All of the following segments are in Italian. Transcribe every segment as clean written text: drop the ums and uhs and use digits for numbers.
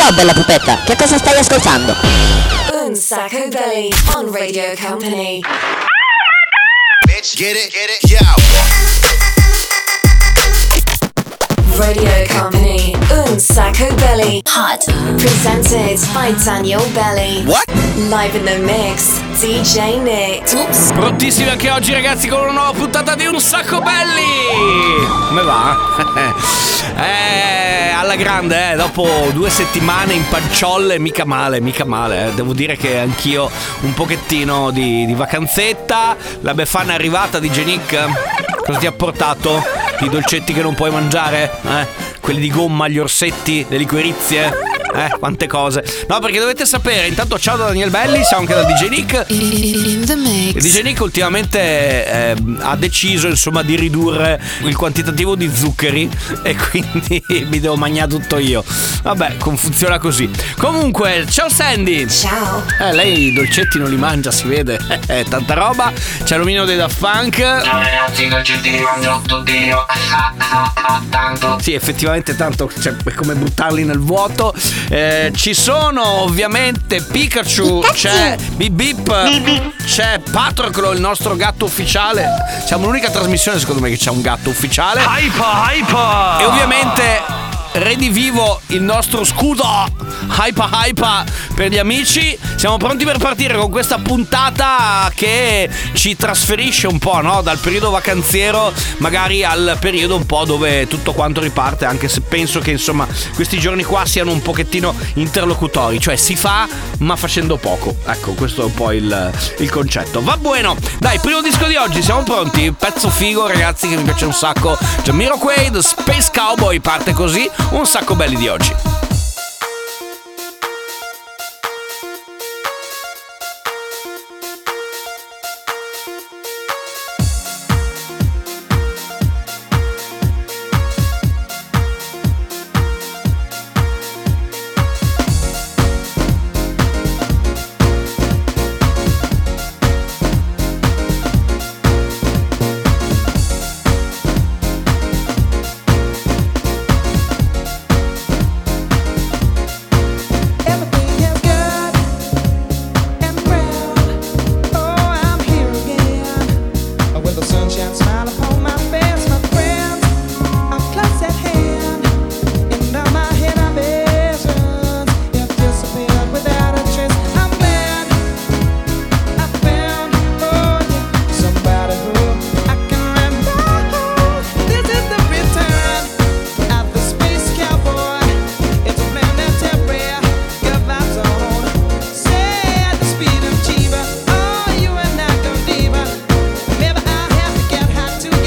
Ciao bella pupetta, che cosa stai ascoltando? Un Sacco Belly on Radio Company. Bitch, get it, yo. Radio Company, Un Sacco Belly. Hot. Presented by Daniel Belly. What? Live in the mix, DJ Nick. Oops. Prontissimi anche oggi ragazzi con una nuova puntata di Un Sacco Belli. Come va? Alla grande, dopo 2 settimane in panciolle, mica male. Devo dire che anch'io un pochettino di vacanzetta. La Befana è arrivata di Genic. Cosa ti ha portato? I dolcetti che non puoi mangiare? Quelli di gomma, gli orsetti, le liquirizie? Quante cose. No, perché dovete sapere, intanto ciao da Daniel Belli, siamo anche da DJ Nick. Il DJ Nick ultimamente ha deciso insomma di ridurre il quantitativo di zuccheri e quindi mi devo mangiare tutto io. Vabbè, funziona così. Comunque, ciao Sandy. Ciao. Lei i dolcetti non li mangia, si vede. Tanta roba. C'è l'omino dei Daft Punk. Ciao ragazzi, i dolcetti li mangio tutto io. Tanto. Sì, effettivamente tanto, cioè, è come buttarli nel vuoto. Ci sono ovviamente Pikachu, c'è Bip Bip, c'è Patroclo, il nostro gatto ufficiale. Siamo l'unica trasmissione secondo me che c'è un gatto ufficiale. Hypa! E ovviamente redivivo il nostro scudo Hypa per gli amici. Siamo pronti per partire con questa puntata che ci trasferisce un po', no? Dal periodo vacanziero magari al periodo un po' dove tutto quanto riparte, anche se penso che insomma questi giorni qua siano un pochettino interlocutori, cioè si fa ma facendo poco. Ecco, questo è un po' il concetto. Va buono, dai, primo disco di oggi, siamo pronti? Pezzo figo ragazzi che mi piace un sacco. Jamiroquai, The Space Cowboy, parte così. Un Sacco Belli di oggi. To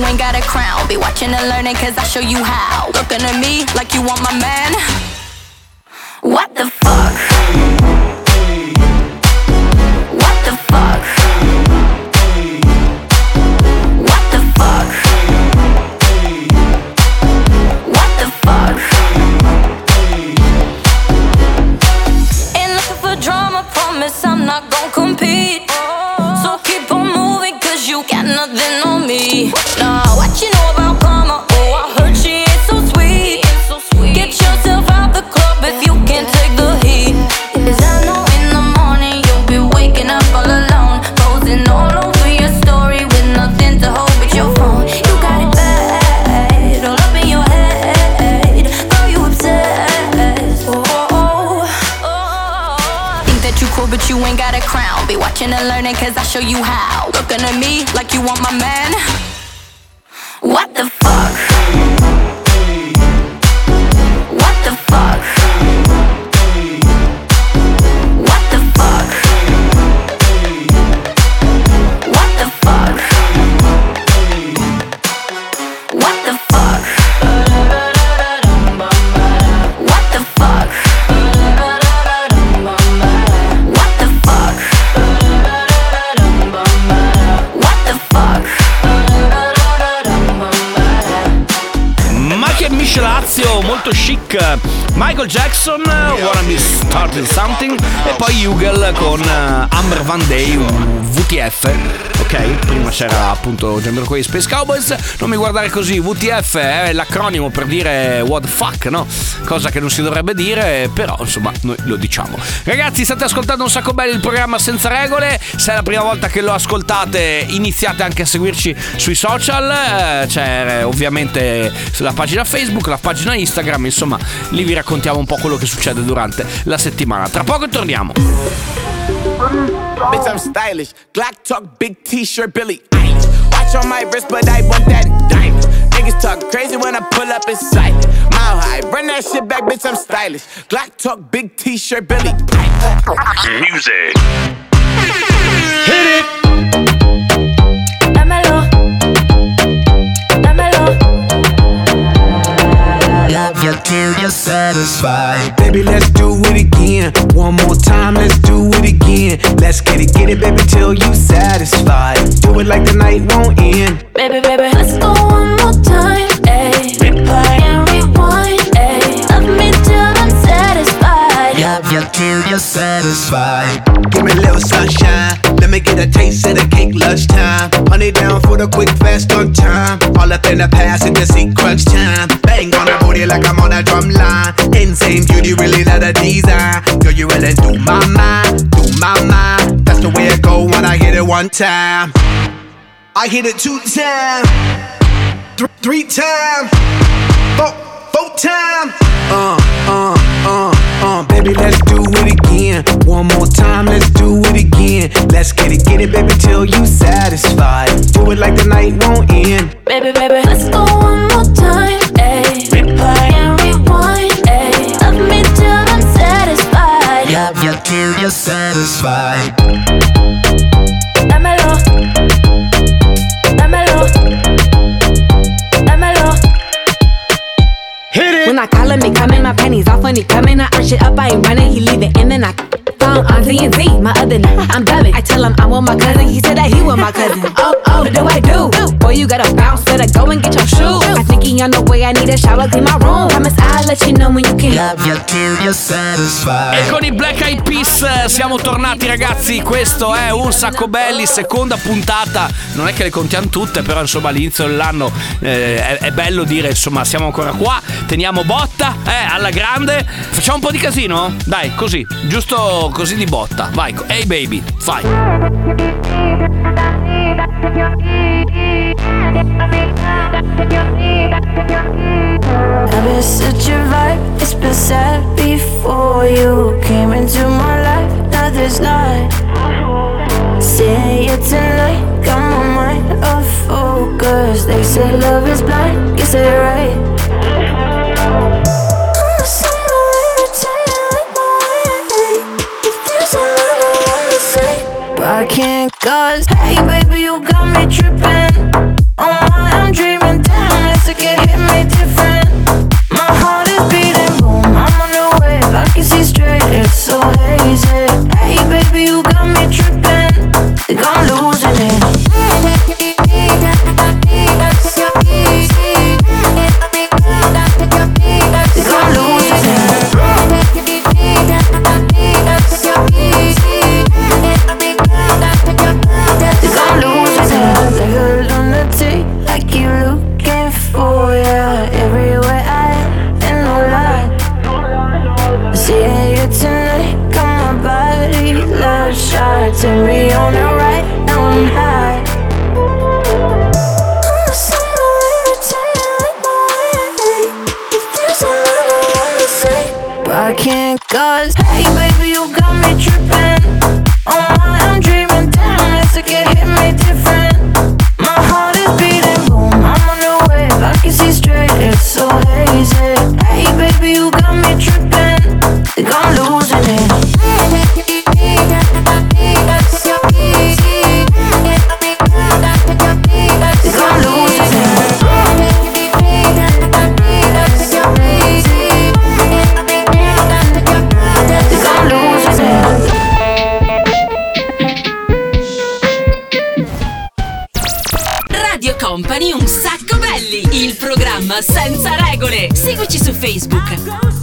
ain't got a crown. Be watching and learning cause I show you how. Looking at me like you want my man. What the fuck? What the fuck? What the fuck? What the fuck? Ain't looking for drama, promise I'm not gon' compete. So keep on moving cause you got nothing on me. Nah, what you know about karma? Oh, I heard she ain't so sweet. Get yourself out the club if you can't take the heat. Cause I know in the morning you'll be waking up all alone, posing all over your story with nothing to hold but your phone. You got it bad, all up in your head. Girl, you obsessed. Think that you cool but you ain't got a crown. Be watching and learning cause I show you how. Looking at me like you want my man. What the fuck? What the fuck? What the fuck? What the fuck? What the fuck? What the fuck? What the fuck? What the fuck? Ma che miscelazio, molto chic. Michael Jackson, Wanna Be Starting Something, e poi Hugel con Amber Van Day, VTF. Ok, prima c'era appunto Jamiroquai Space Cowboys. Non mi guardare così, VTF è l'acronimo per dire what the fuck, no? Cosa che non si dovrebbe dire, però insomma noi lo diciamo. Ragazzi, state ascoltando Un Sacco Belli, il programma senza regole. Se è la prima volta che lo ascoltate, iniziate anche a seguirci sui social. C'è ovviamente la pagina Facebook, la pagina Instagram, insomma lì vi raccontiamo un po' quello che succede durante la settimana. Tra poco torniamo. Bitch, I'm stylish. Glock talk, big t-shirt, Billy Eilish. Watch on my wrist, but I want that diamond. Niggas talk crazy when I pull up in sight. Mile high, run that shit back, bitch, I'm stylish. Glock talk, big t-shirt, Billy Eilish. Music. Hit it. Dámelo. Dámelo. Love you till you're satisfied. Baby, let's do it again. One more time, let's do it again. Let's get it, baby, till you satisfied. Do it like the night won't end. Baby, baby, let's go one more time. Ayy, replay and rewind. Ayy, love me till I'm satisfied. Love you till you're satisfied. Give me a little sunshine. Let me get a taste of the cake lunchtime. Honey down for the quick, fast on time. All up in the past, it just see crunch time. Bang on the booty like I'm on a drum line. Insane beauty, really not a design. Girl, you really do my mind, do my mind. That's the way it go when I hit it one time. I hit it 2 times, 3 times, 4 times. Baby, let's do it again. One more time, let's do it again. Let's get it, baby, till you satisfied. Do it like the night won't end. Baby, baby, let's go one more time. Ayy, replay and rewind. Ayy, love me till I'm satisfied. Love you till you're satisfied. Dámelo. Dámelo. Dámelo. Hit it. When I call him, he coming, my panties off when he coming. I arch it up, I ain't running, he leave it in and I phone on Z&Z, my other night, I'm dubbing. I tell him I'm with my cousin, he said that he with my cousin. Oh, what do I do? Boy, you gotta bounce, better go and get your shoes. I think he on the way, I need a shower, clean my room. Promise I'll let you know when you can. Love you till you're satisfied. E con i Black Eyed Peas siamo tornati, ragazzi. Questo è Un Sacco Belli, seconda puntata. Non è che le contiamo tutte, però insomma all'inizio dell'anno è bello dire insomma siamo ancora qua, teniamo botta alla grande. Facciamo un po' di casino? Dai, così, giusto così di botta. Vai, hey baby, fai. I've been such a vibe, it's been sad before you came into my life. Now there's not. Seeing you tonight, got my mind off focus. They say love is blind, you say right. But I can't cause, hey baby, you got me tripping. Oh my, I'm Turn me on and right now I'm high. I can't cause hey baby you got me trippin'. Oh my I'm dreaming damn it's like it hit me different. My heart is beating boom I'm on the wave I can see straight it's so hazy. Hey baby you got me trippin'. Think I'm losing it. Think I'm losing it. Radio Company Un Sacco Belli, il programma senza regole. Seguici su Facebook.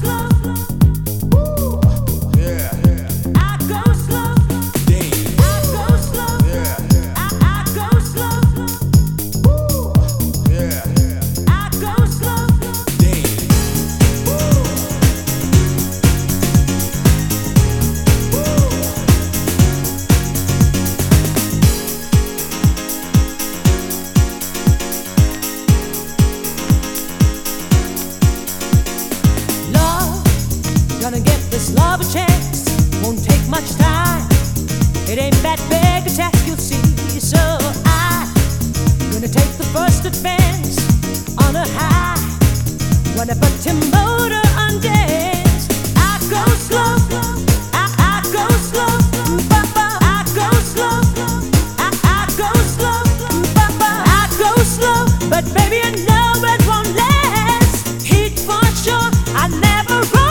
Gonna give this love a chance, won't take much time. It ain't that big a task, you'll see. So I'm gonna take the first advance on a high. Wanna put your motor on dance. I go slow, I go slow, I go slow, I go slow, I go slow. But baby I know it won't last. Heat for sure, I never run.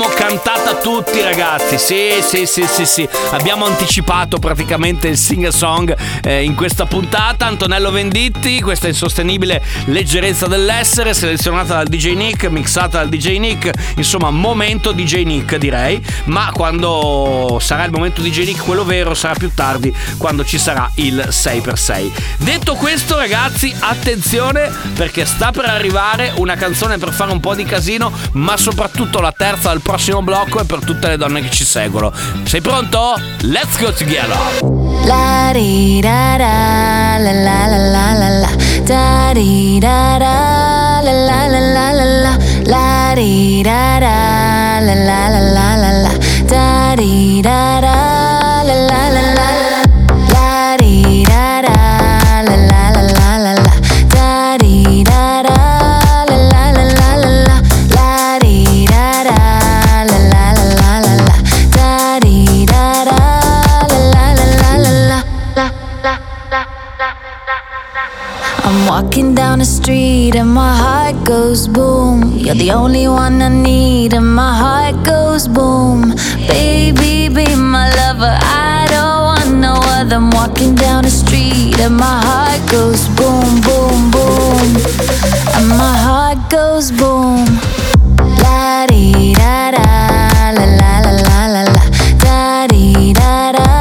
l'abbiamo cantata tutti, ragazzi. Sì. Abbiamo anticipato praticamente il sing-song in questa puntata. Antonello Venditti, questa insostenibile leggerezza dell'essere, selezionata dal DJ Nick, mixata dal DJ Nick. Insomma, momento DJ Nick, direi. Ma quando sarà il momento DJ Nick, quello vero, sarà più tardi, quando ci sarà il 6x6. Detto questo, ragazzi, attenzione, perché sta per arrivare una canzone per fare un po' di casino, ma soprattutto la terza del prossimo blocco è per tutte le donne che ci seguono. Sei pronto? Let's go together! La di da da la la la la la la da di da da la la la la la la la di da da la la la la la la da di da da la la la la la di da da la la la la la la da di da da la la la la la la di da da la la la la la la da di da da I'm walking down the street and my heart goes boom. You're the only one I need and my heart goes boom. Baby, be my lover, I don't want no other. I'm walking down the street and my heart goes boom, boom, boom. And my heart goes boom. La di da da, la la la la la la. Da di da da.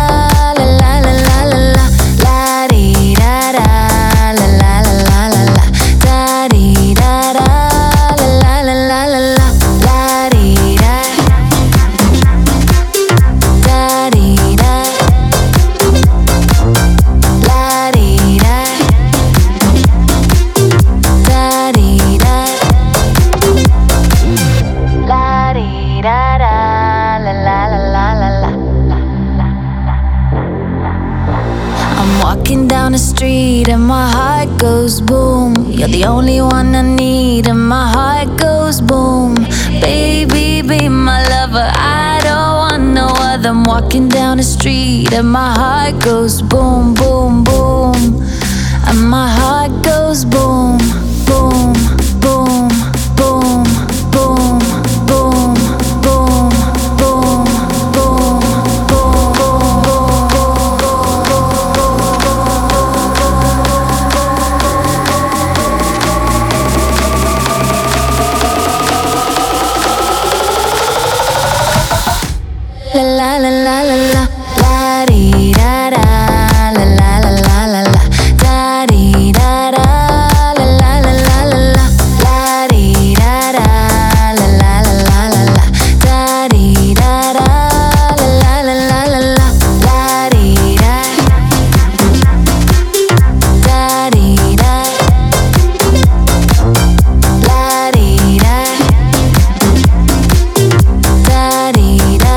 Down the street and my heart goes boom. You're the only one I need and my heart goes boom. Baby, be my lover, I don't want no other. I'm walking down the street and my heart goes boom, boom, boom. And my heart goes boom, boom, boom, boom, boom, boom, boom, boom, boom. La la la la la la di da da la la la la la la da di da da la la la la la la la di da da la la la la la la da di da da la la la la la la la di da da di da la di da da di da.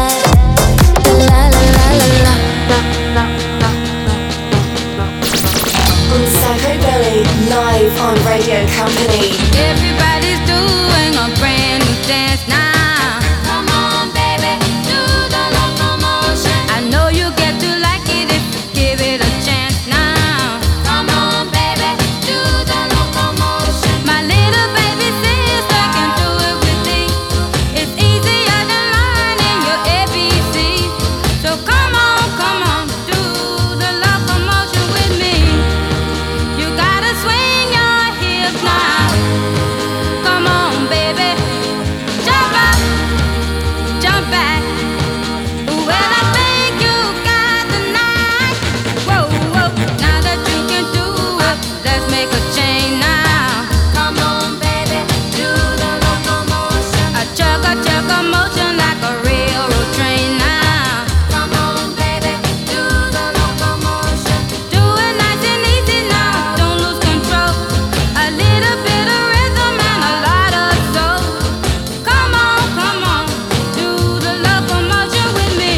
Live on Radio Company. Everybody's doing a brand new dance now. Come on, baby, do the locomotion. I know you get to like it if you give it a chance now. Come on, baby, do the locomotion. My little baby sister can do it with me. It's easier than learning your ABC. So come on, do the locomotion with me. You gotta swing your hips now. Come on, baby. Jump up, jump back. Well, I think you got the knack. Whoa, whoa. Now that you can do it, let's make a change now. Come on, baby. Do the locomotion. A chugga motion like a railroad train now. Come on, baby. Do the locomotion. Do it nice and easy now. Don't lose control. A little bit of rhythm and a lot of soul. Come on, do the locomotion with me.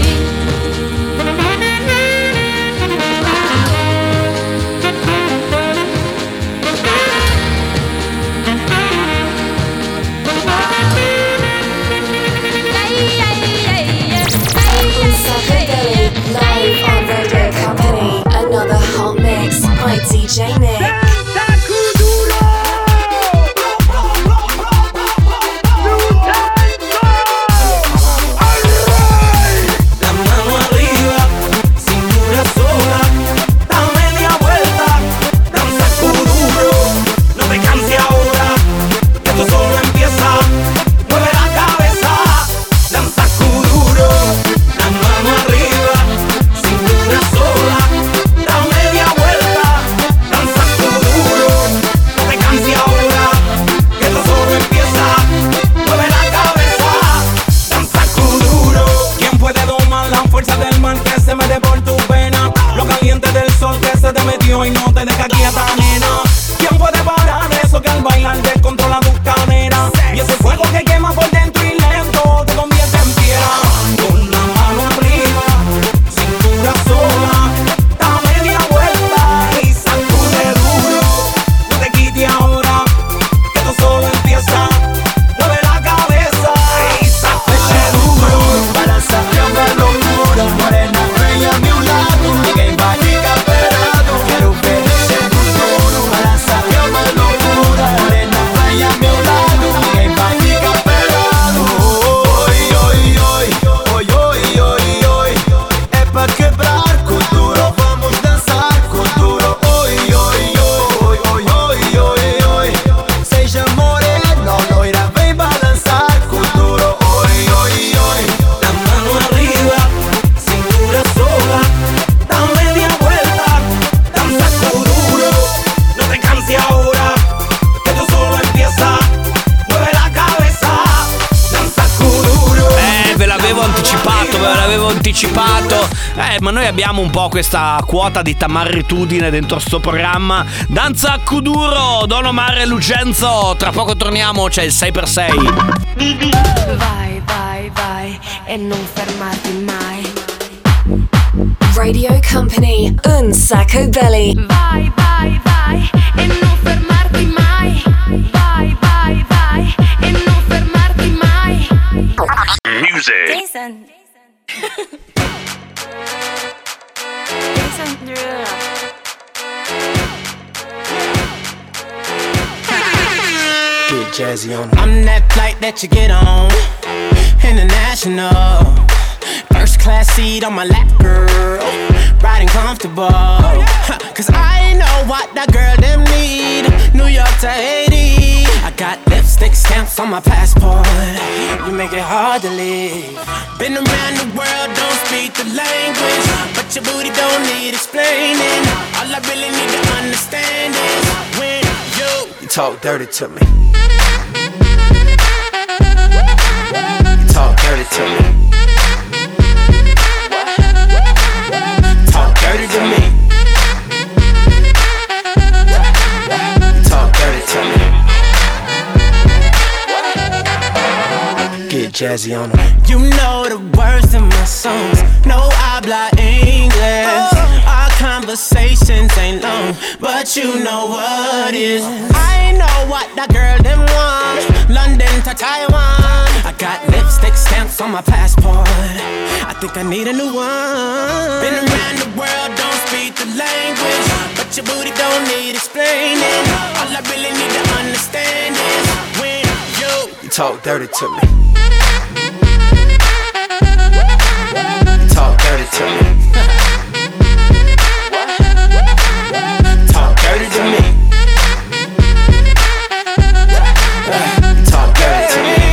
Psychobilly, live on Radio Company. Another hot mix by DJ Nick. quédate quieta, nena. ¿Quién puede parar eso que al bailar descontrola tu cadera? Y ese fuego que quema por dentro y lento te convierte en piedra. Con la mano arriba, cintura sola, da media vuelta y sacude duro. No te quites ahora, que esto solo empieza. Mueve la cabeza y sacude duro. Balanza una locura, morena bella a mi lado. Ninguém vai ficar parado. Quero ver esse duro. Balança uma loucura, morena bella a meu lado. Ninguém vai ficar parado. Oi, oi, oi, oi, oi, oi, oi. É pra quebrar com duro, vamos dançar com duro. Oi, oi, oi, oi, oi, oi, oi. Seja morena, loira, vem balançar com duro. Oi, oi, oi. La mano arriba, cintura sola, da media vuelta, danza con duro. No te canses ahora, que esto solo empieza. Mueve la cabeza, danza con duro. Ve l'avevo anticipato. Ma noi abbiamo un po' questa quota di tamarritudine dentro sto programma. Danza a Kuduro, Don Omar e Lucenzo. Tra poco torniamo, c'è il 6x6. Vai, vai, vai e non fermarti mai. Radio Company, un sacco belly. Vai, vai, vai e non fermarti mai. Vai, vai, vai e non fermarti mai. Music. Jason. Jason Derulo. Get jazzy on. I'm that flight that you get on, international. First class seat on my lap, girl. Riding comfortable. Cause I know what that girl them need. New York to Haiti. I got lipstick stamps on my passport. You make it hard to leave. Been around the world, don't speak the language, but your booty don't need explaining. All I really need to understand is when you talk dirty to me. You talk dirty to me. Talk dirty to me. Talk dirty to me. Get jazzy on them. You know the words in my songs. No habla English. Our conversations ain't long, but you know what is. I know what that girl them want. London to Taiwan. I got lipstick stamps on my passport. I think I need a new one. Been around the world, don't speak the language, but your booty don't need explaining. All I really need to understand is when you talk dirty to me. You talk dirty to me. Talk dirty to me. Talk dirty to me.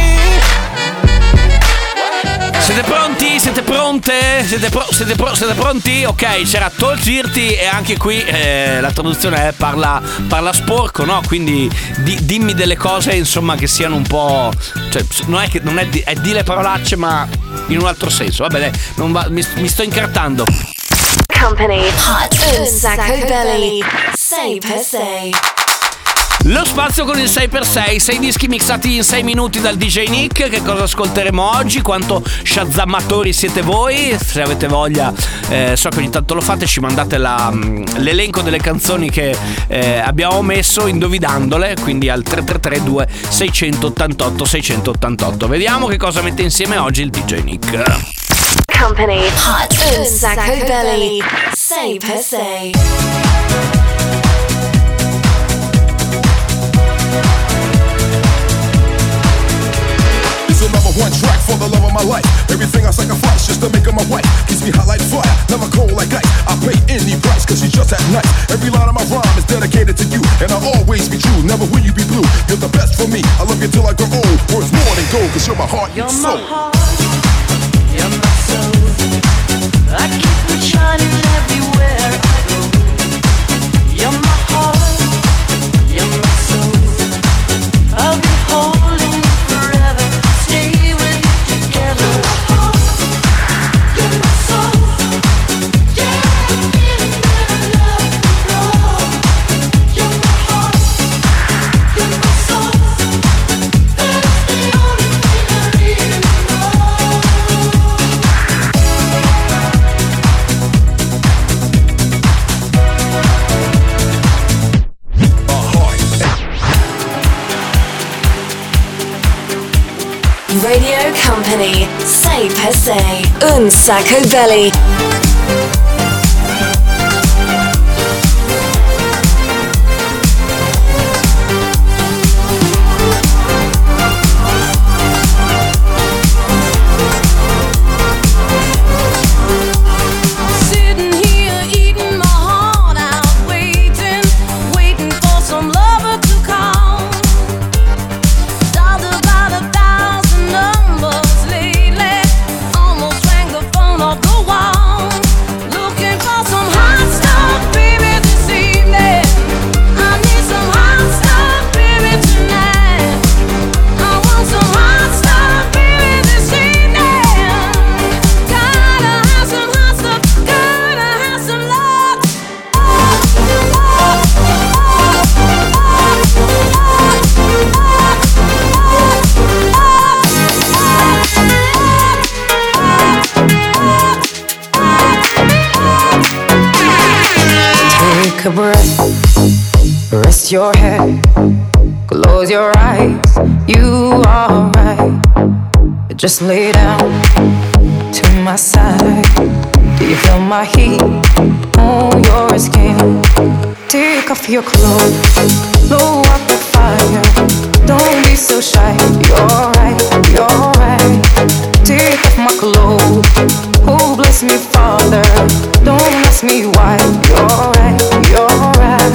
Siete pronti? Siete pronte? Siete pronti? Ok, c'era Tolgirti e anche qui la traduzione è parla sporco, no? Quindi dimmi delle cose, insomma, che siano un po', cioè non è di le parolacce, ma in un altro senso. Vabbè, dai, mi sto incartando. Company, hot, un sacco belly, 6x6. Lo spazio con il 6x6, 6 dischi mixati in 6 minuti dal DJ Nick. Che cosa ascolteremo oggi? Quanto shazammatori siete voi? Se avete voglia, so che ogni tanto lo fate, ci mandate l'elenco delle canzoni che abbiamo messo indovinandole, quindi al 333 688 688. Vediamo che cosa mette insieme oggi il DJ Nick. Company, hot, un sacco belly, 6x6. Number one track for the love of my life. Everything I sacrifice just to make her my wife. Keeps me hot like fire, never cold like ice. I pay any price cause she's just that nice. Every line of my rhyme is dedicated to you, and I'll always be true, never will you be blue. You're the best for me, I love you till I grow old. Worth more than gold cause you're my heart and soul. You're my heart, you're my soul. I keep it shining everywhere I go. You're my heart, you're my soul. I'll be holding you forever. Stay with you together. You're my soul. Yeah, I'm feeling that I love you, Lord. company, sei per sé, un sacco belly. Take a breath, rest your head, close your eyes, you are right. Just lay down to my side. Do you feel my heat on your skin? Take off your clothes, blow up the fire. Don't be so shy, you're right, you're right. Take off my clothes, oh bless me Father. Don't ask me why, you're right, you're right.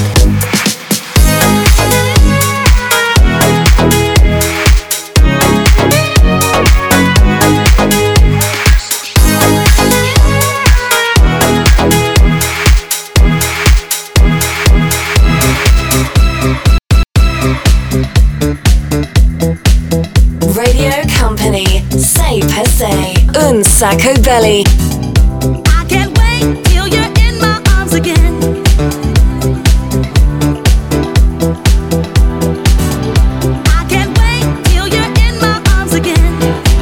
Radio company, sei per sé, un sacco belly. I can't wait till you're in my arms again. I can't wait till you're in my arms again.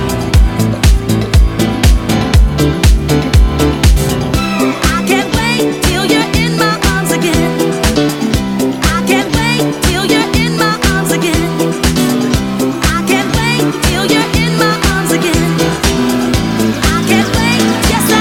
I can't wait till you're in my arms again. I can't wait till you're in my arms again. I can't wait till you're in my arms again. I can't wait, yes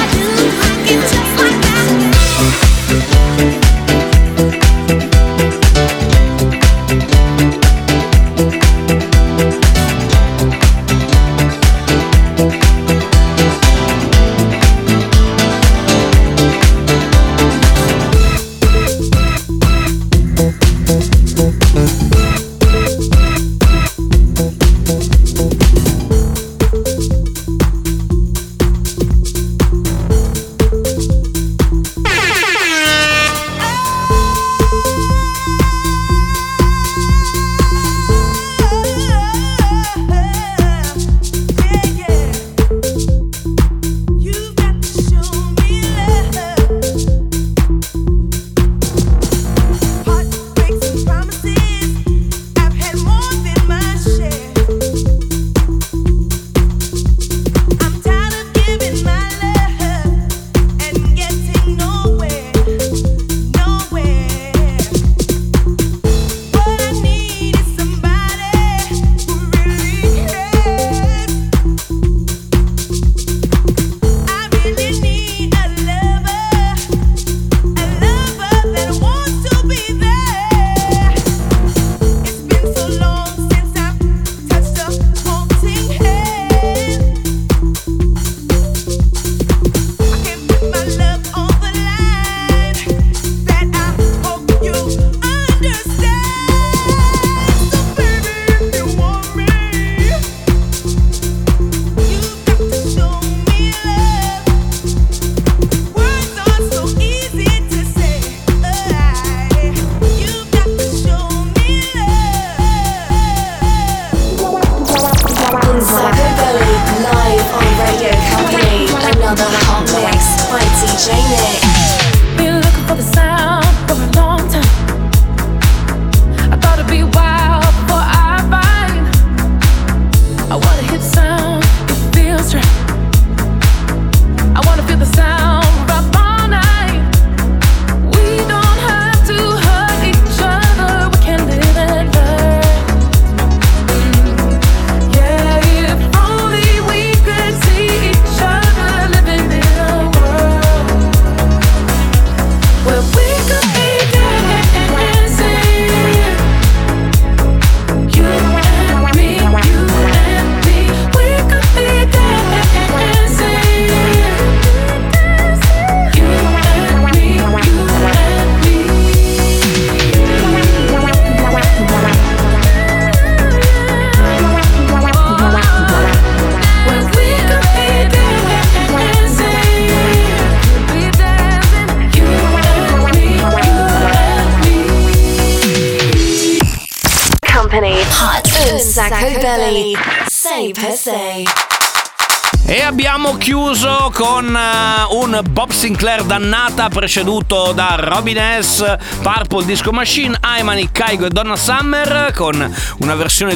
Company. Hot Sacco Belly. Say per se. E abbiamo chiuso con un Bob Sinclair dannata, preceduto da Robin S, Purple Disco Machine, Aimani, Kygo e Donna Summer, con una versione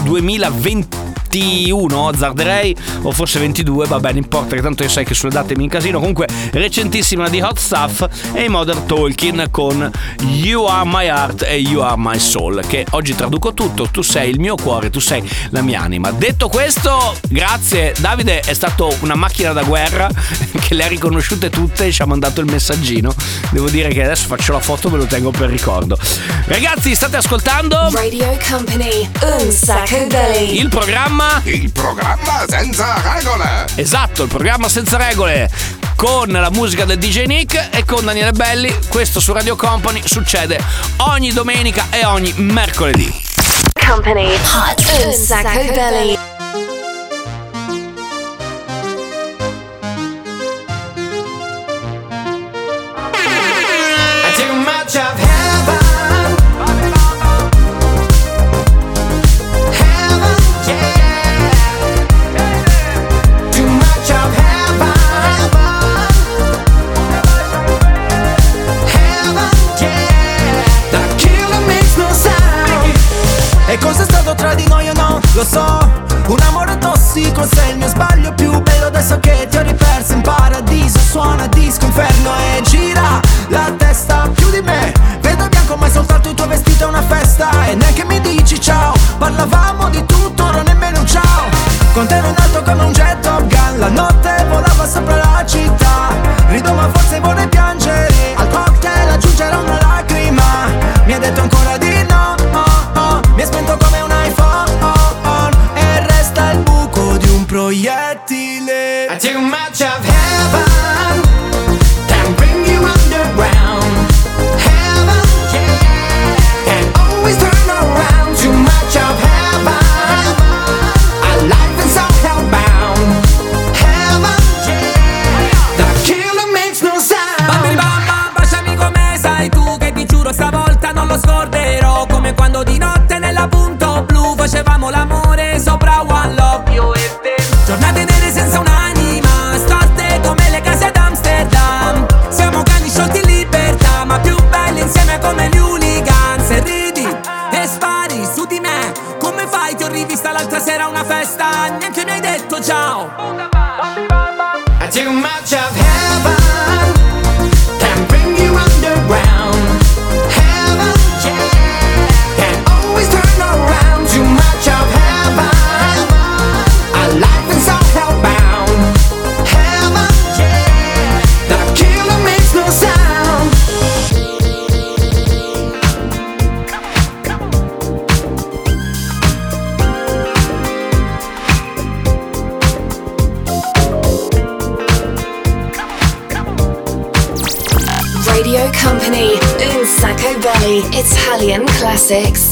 2021, azzarderei, o forse 22, vabbè, non importa, che tanto io sai che sulle date mi incasino. Comunque recentissima di Hot Stuff, e i Modern Talking con You Are My Heart e You Are My Soul, che oggi traduco tutto: tu sei il mio cuore, tu sei la mia anima. Detto questo, grazie Davide, è stato una macchina da guerra che le ha riconosciute tutte e ci ha mandato il messaggino. Devo dire che adesso faccio la foto, ve lo tengo per ricordo. Ragazzi, state ascoltando Radio Company, un sacco belli. il programma senza regole. Esatto, il programma senza regole, con la musica del DJ Nick e con Daniele Belli. Questo su Radio Company succede ogni domenica e ogni mercoledì. Company, hot un sacco belli. Too much of heaven, yeah. Too much of heaven, yeah. The killer makes no sound. E cos'è stato tra di noi o no? Lo so, un amore tossico, sei il mio sbaglio più bello. Adesso che ti ho riperso in paradiso, suona disco inferno e gira la testa più di me. Vedo bianco ma è soltanto il tuo vestito è una festa. E neanche mi dici ciao, parlavamo di tutto, ora nemmeno un ciao. Con te ero in alto come un jet Top Gun, la notte volava sopra la città. Rido ma forse vorrei piangere, al cocktail aggiungerò una lacrima. Mi ha detto ancora di no, mi ha spento come un iPhone, e resta il buco di un proiettile. Too much of heaven can bring you underground. Heaven, yeah, can always turn around. Too much of heaven, our life is so hellbound. Heaven, yeah, the killer makes no sound. Bambini bamba, baciami come sai tu, che ti giuro stavolta non lo scorderò. Come quando di notte nella punto blu facevamo l'amore sopra One Love, io e te. Giornate nere senza un'anima, storte come le case ad Amsterdam. Siamo cani sciolti in libertà, ma più belli insieme come gli hooligans. E ridi e spari su di me, come fai? Ti ho rivista l'altra sera a una festa, neanche mi hai detto ciao. Too much of heaven can bring you underground. Heaven, yeah, can always turn around. Too much of heaven, our life is so hellbound. Heaven, yeah, the killer makes no sound. Radio Company, un sacco belli. Italian classics.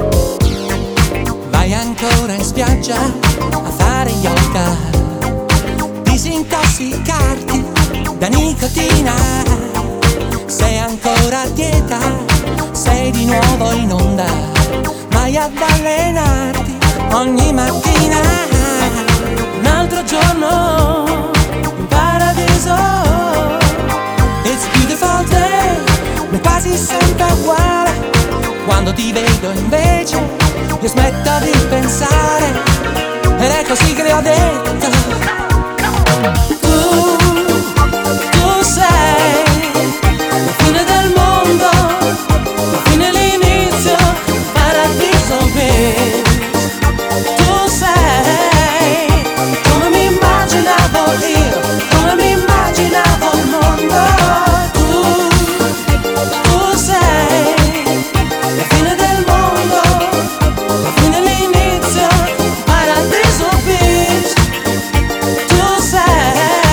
Vai ancora in spiaggia a fare yoga, disintossicarti da nicotina. Sei ancora a dieta, sei di nuovo in onda, vai ad allenarti ogni mattina. Un altro giorno in paradiso. It's a beautiful day, ma è quasi sempre uguale. Quando ti vedo invece io smetto di pensare, ed è così che le ho detto. Tu sei la fine del mondo, la fine e l'inizio, paradiso qui. Tu sei come mi immaginavo io, come mi immaginavo il mondo. Tu sei la fine del mondo, la fine e l'inizio, paradiso beach. Tu sei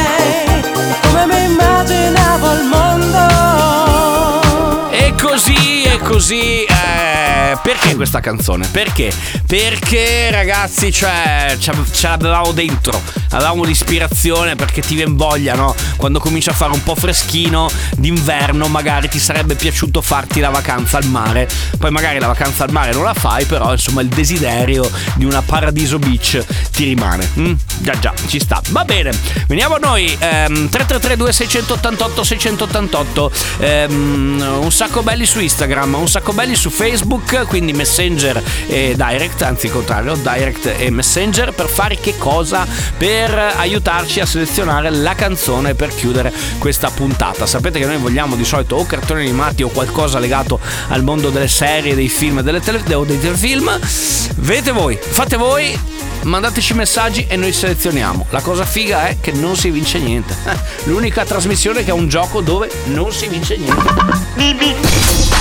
così. Perché questa canzone? Perché? Perché ragazzi, cioè ce l'avevamo dentro, avevamo l'ispirazione, perché ti viene voglia, no? Quando comincia a fare un po' freschino d'inverno, magari ti sarebbe piaciuto farti la vacanza al mare. Poi magari la vacanza al mare non la fai, però insomma il desiderio di una Paradiso Beach ti rimane. Già, ci sta. Va bene, veniamo a noi. 333 2688 688. Un sacco belli su Instagram, un sacco belli su Facebook, quindi Messenger e Direct, anzi il contrario, Direct e Messenger. Per fare che cosa? Per aiutarci a selezionare la canzone per chiudere questa puntata. Sapete che noi vogliamo di solito o cartoni animati o qualcosa legato al mondo delle serie, dei film, dei telefilm. Vedete voi, fate voi, mandateci messaggi e noi selezioniamo. La cosa figa è che non si vince niente. L'unica trasmissione che è un gioco dove non si vince niente.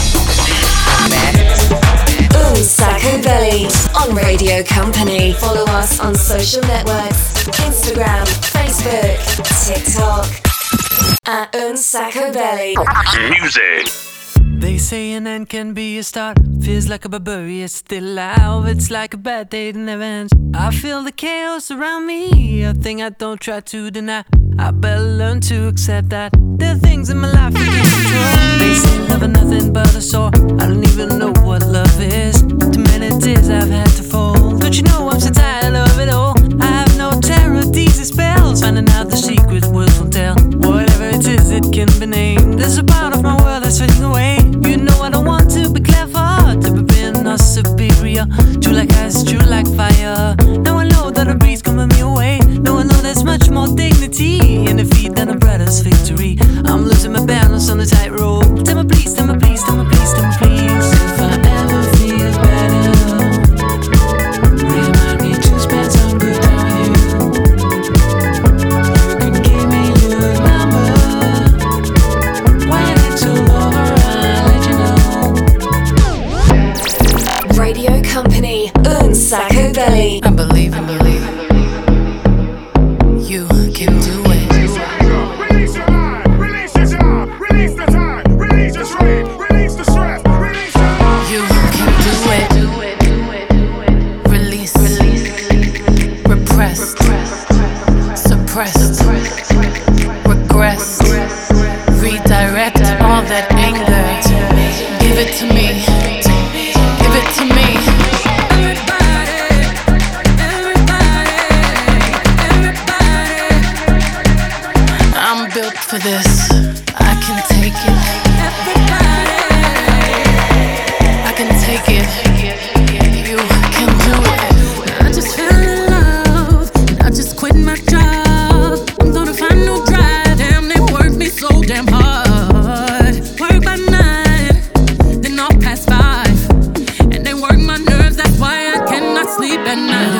Sacco Belly on Radio Company. Follow us on social networks: Instagram, Facebook, TikTok at Sacco Belly. Music. They say an end can be a start. Feels like a barbarian still alive. It's like a bad day that never ends. I feel the chaos around me, a thing I don't try to deny. I better learn to accept that there are things in my life I can't control. They say love is nothing but a sore. I don't even know what love is. Too many tears I've had to fold. Don't you know I'm so tired of it all? I have no terror, these are spells. Finding out the secret words won't tell. Whatever it is, it can be named. There's a part of my world that's fading away. You know I don't want to be clever, to be being or superior. True like ice, true like fire. Now I know that a breeze coming me away. Now I know there's much more dignity in defeat than a brother's victory. I'm losing my balance on the tightrope. Tell me please, tell me please, tell me please, tell me please. If I ever feel better, remind me to spend some good time with you. You can give me your number. When it's all over, I'll let you know. Radio Company, Sacco Belly. I believe you can do it. Release your mind, release your job, release the time, release the strain, release the stress, release You can do it. Release, repressed, suppressed, regress, redirect all that anger. Give it to me, give it to me. I'm built for this. I can take it. I can take it. You can do it. I just fell in love, and I just quit my job. I'm gonna find no drive. Damn, they work me so damn hard. Work by 9, then off past 5, and they work my nerves. That's why I cannot sleep at night.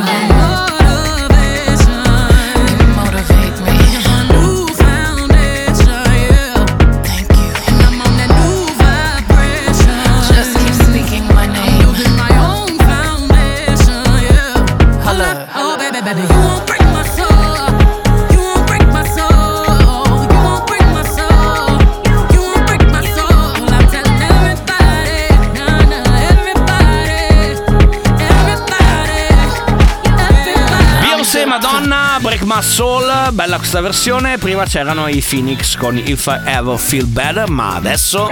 Motivate me. New foundation, yeah. Thank you. And I'm on that new vibration. Just keep speaking my name. Building my own foundation, yeah. Holla. Oh, baby, you won't break my soul. You won't break my soul. You won't break my soul. You won't break my soul. I'm telling everybody, everybody. Beyoncé, Madonna, Break My Soul. Bella questa versione. Prima c'erano i Phoenix con If I Ever Feel Better, ma adesso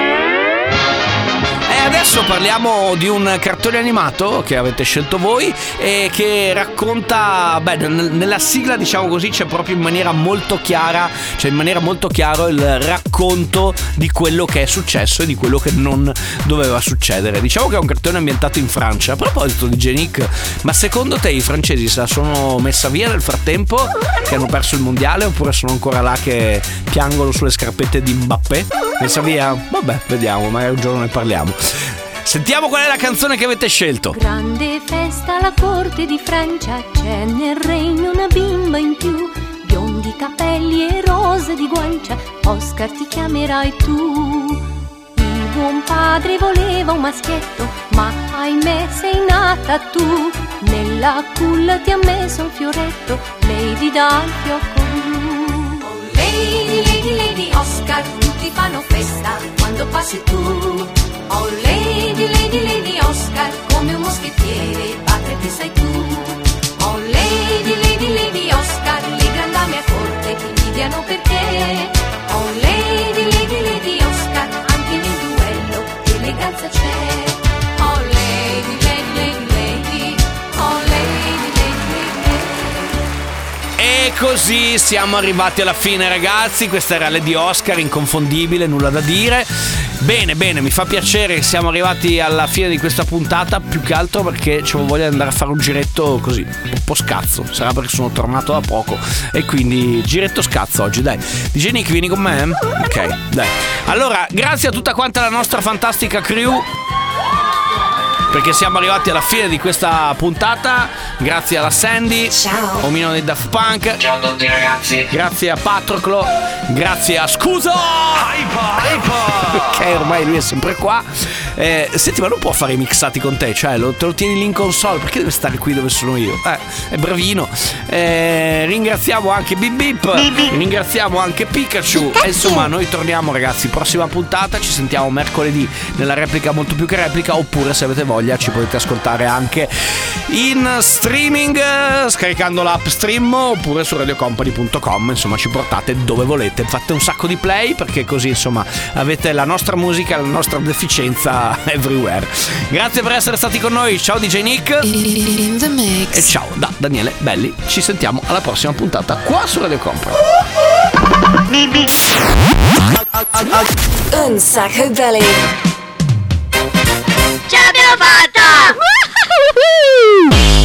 parliamo di un cartone animato che avete scelto voi e che racconta, nella sigla, diciamo così, c'è proprio in maniera molto chiara, il racconto di quello che è successo e di quello che non doveva succedere. Diciamo che è un cartone ambientato in Francia. A proposito di Genic, ma secondo te i francesi se la sono messa via nel frattempo, che hanno perso il mondiale, oppure sono ancora là che piangono sulle scarpette di Mbappé? Messa via? Vabbè, vediamo, magari un giorno ne parliamo. Sentiamo qual è la canzone che avete scelto. Grande festa alla corte di Francia, c'è nel regno una bimba in più, biondi capelli e rose di guancia, Oscar ti chiamerai tu. Il buon padre voleva un maschietto, ma ahimè sei nata tu, nella culla ti ha messo un fioretto, Lady dal fiocco blu. Oh Lady, Lady, Lady Oscar, tutti fanno festa quando passi tu. Oh Lady, Lady, Lady Oscar, come un moschettiere, batterti sai tu. Oh Lady, Lady, Lady Oscar, le grandame a corte ti invidiano per te. Oh Lady, Lady, Lady Oscar, anche nel duello eleganza c'è. Oh Lady, Lady, Lady, Lady, oh Lady, Lady, Lady. E così siamo arrivati alla fine, ragazzi. Questa era Lady Oscar, inconfondibile, nulla da dire. Bene, bene, mi fa piacere che siamo arrivati alla fine di questa puntata, più che altro perché c'avevo voglia di andare a fare un giretto così, un po' scazzo. Sarà perché sono tornato da poco e quindi giretto scazzo oggi, dai. DJ Nick, vieni con me? Ok, dai. Allora, grazie a tutta quanta la nostra fantastica crew, perché siamo arrivati alla fine di questa puntata. Grazie alla Sandy, ciao, omino dei Daft Punk, ciao a tutti ragazzi, grazie a Patroclo, grazie a Scuso che ormai lui è sempre qua. Senti, ma non può fare i mixati con te, cioè te lo tieni lì in console, perché deve stare qui dove sono io? È bravino. Ringraziamo anche Bip Bip, ringraziamo anche Pikachu. E insomma, noi torniamo, ragazzi, prossima puntata, ci sentiamo mercoledì nella replica Molto Più Che Replica, oppure se avete voglia ci potete ascoltare anche in streaming scaricando l'app Stream, oppure su radiocompany.com. Insomma, ci portate dove volete, fate un sacco di play, perché così insomma avete la nostra musica, la nostra deficienza everywhere. Grazie per essere stati con noi. Ciao DJ Nick In the mix. e ciao da Daniele Belli. Ci sentiamo alla prossima puntata qua su Radio Company. Un sacco belly. Ce l'abbiamo fatta!